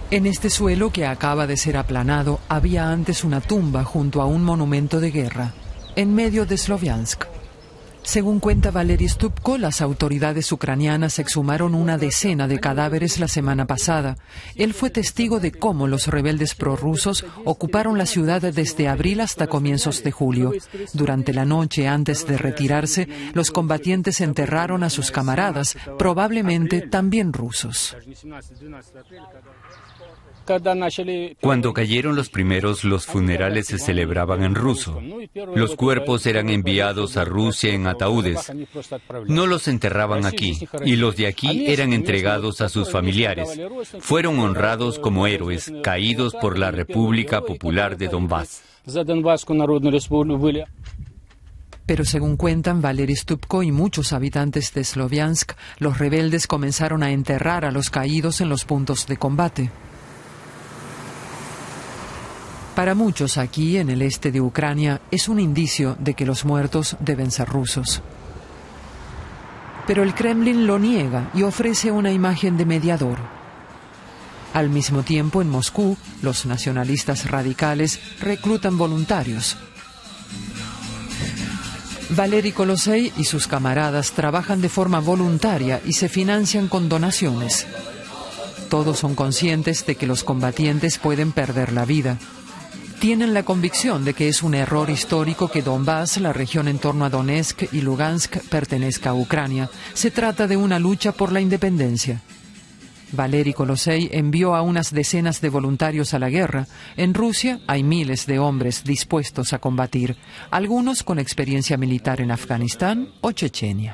En este suelo que acaba de ser aplanado había antes una tumba junto a un monumento de guerra, en medio de Sloviansk. Según cuenta Valery Stupko, las autoridades ucranianas exhumaron una decena de cadáveres la semana pasada. Él fue testigo de cómo los rebeldes prorrusos ocuparon la ciudad desde abril hasta comienzos de julio. Durante la noche, antes de retirarse, los combatientes enterraron a sus camaradas, probablemente también rusos. Cuando cayeron los primeros, los funerales se celebraban en ruso. Los cuerpos eran enviados a Rusia en ataúdes. No los enterraban aquí, y los de aquí eran entregados a sus familiares. Fueron honrados como héroes, caídos por la República Popular de Donbass. Pero según cuentan Valery Stupko y muchos habitantes de Sloviansk, los rebeldes comenzaron a enterrar a los caídos en los puntos de combate. Para muchos aquí, en el este de Ucrania, es un indicio de que los muertos deben ser rusos. Pero el Kremlin lo niega y ofrece una imagen de mediador. Al mismo tiempo, en Moscú, los nacionalistas radicales reclutan voluntarios. Valery Kolosey y sus camaradas trabajan de forma voluntaria y se financian con donaciones. Todos son conscientes de que los combatientes pueden perder la vida. Tienen la convicción de que es un error histórico que Donbass, la región en torno a Donetsk y Lugansk, pertenezca a Ucrania. Se trata de una lucha por la independencia. Valery Kolosey envió a unas decenas de voluntarios a la guerra. En Rusia hay miles de hombres dispuestos a combatir, algunos con experiencia militar en Afganistán o Chechenia.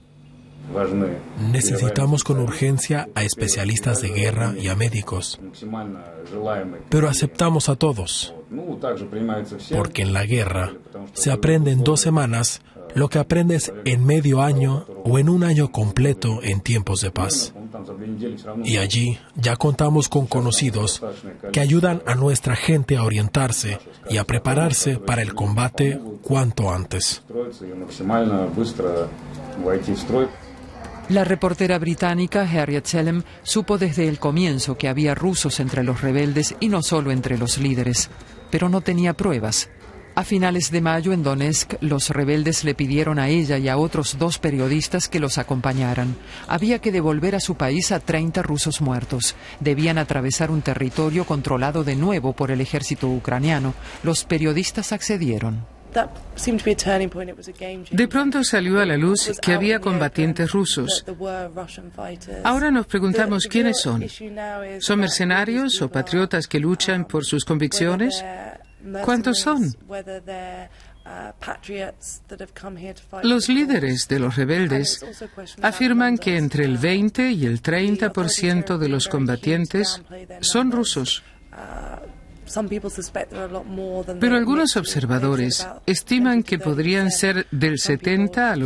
Necesitamos con urgencia a especialistas de guerra y a médicos. Pero aceptamos a todos, porque en la guerra se aprende en 2 semanas lo que aprendes en medio año o en un año completo en tiempos de paz. Y allí ya contamos con conocidos que ayudan a nuestra gente a orientarse y a prepararse para el combate cuanto antes. La reportera británica Harriet Selem supo desde el comienzo que había rusos entre los rebeldes y no solo entre los líderes, pero no tenía pruebas. A finales de mayo, en Donetsk, los rebeldes le pidieron a ella y a otros 2 periodistas que los acompañaran. Había que devolver a su país a 30 rusos muertos. Debían atravesar un territorio controlado de nuevo por el ejército ucraniano. Los periodistas accedieron. De pronto salió a la luz que había combatientes rusos. Ahora nos preguntamos quiénes son. ¿Son mercenarios o patriotas que luchan por sus convicciones? ¿Cuántos son? Los líderes de los rebeldes afirman que entre el 20 y el 30% de los combatientes son rusos. Pero algunos observadores estiman que podrían ser del 70 al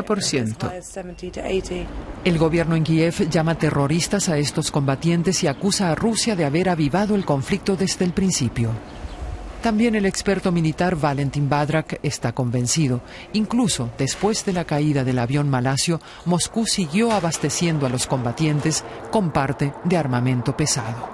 80%. El gobierno en Kiev llama terroristas a estos combatientes y acusa a Rusia de haber avivado el conflicto desde el principio. También el experto militar Valentin Badrak está convencido. Incluso después de la caída del avión malasio, Moscú siguió abasteciendo a los combatientes con parte de armamento pesado.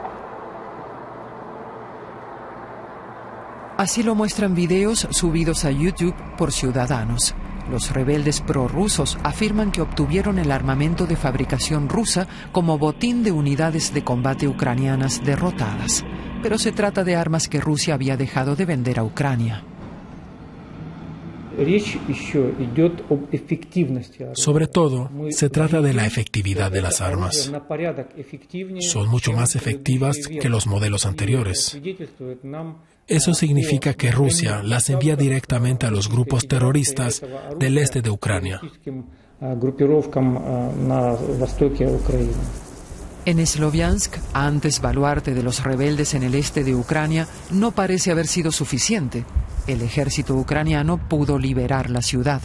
Así lo muestran videos subidos a YouTube por ciudadanos. Los rebeldes prorrusos afirman que obtuvieron el armamento de fabricación rusa como botín de unidades de combate ucranianas derrotadas. Pero se trata de armas que Rusia había dejado de vender a Ucrania. Sobre todo, se trata de la efectividad de las armas. Son mucho más efectivas que los modelos anteriores. Eso significa que Rusia las envía directamente a los grupos terroristas del este de Ucrania. En Sloviansk, antes baluarte de los rebeldes en el este de Ucrania, no parece haber sido suficiente. El ejército ucraniano pudo liberar la ciudad.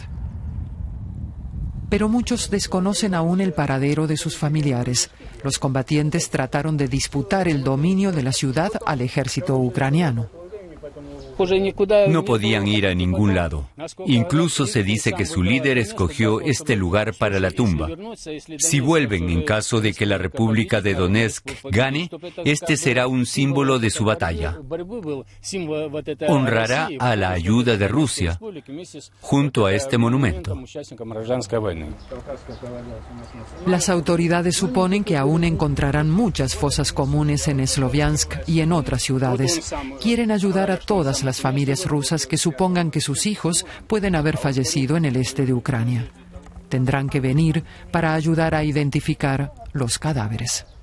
Pero muchos desconocen aún el paradero de sus familiares. Los combatientes trataron de disputar el dominio de la ciudad al ejército ucraniano. No podían ir a ningún lado. Incluso se dice que su líder escogió este lugar para la tumba. Si vuelven en caso de que la República de Donetsk gane, este será un símbolo de su batalla. Honrará a la ayuda de Rusia junto a este monumento. Las autoridades suponen que aún encontrarán muchas fosas comunes en Sloviansk y en otras ciudades. Quieren ayudar a todas las familias rusas que supongan que sus hijos pueden haber fallecido en el este de Ucrania. Tendrán que venir para ayudar a identificar los cadáveres.